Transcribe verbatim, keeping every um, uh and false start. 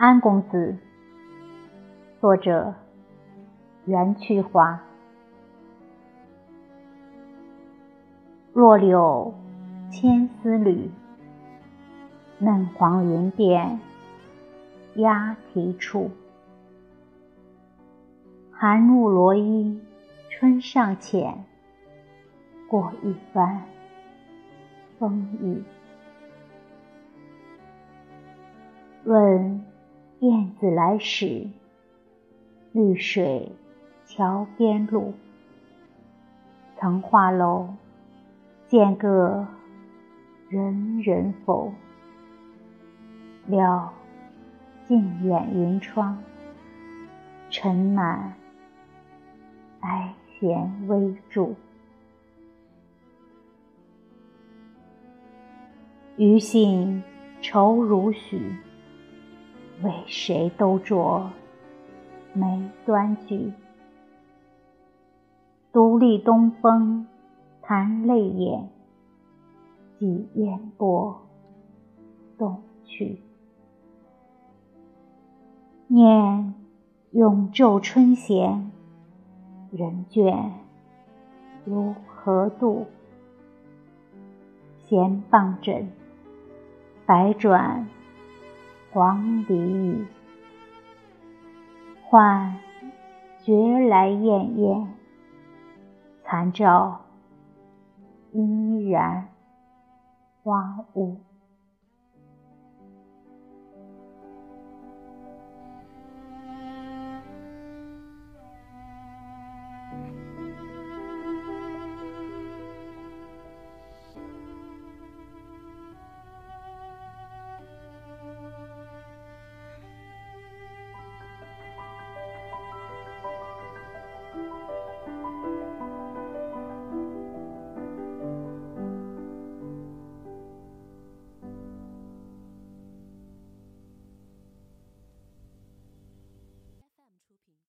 安公子，作者袁去华。若柳千丝缕，嫩黄云鬓鸦啼处。寒入罗衣春尚浅，过一番风雨。问燕子来时，绿水桥边路。曾画楼见个人人否？料尽掩云窗，尘满哀弦微驻。余信愁如许，为谁都着眉端聚。独立东风弹泪眼，寄烟波东去。念永昼春闲，人倦如何度？闲傍枕，百转黄鹂语。唤觉来滟滟，残照依然花坞。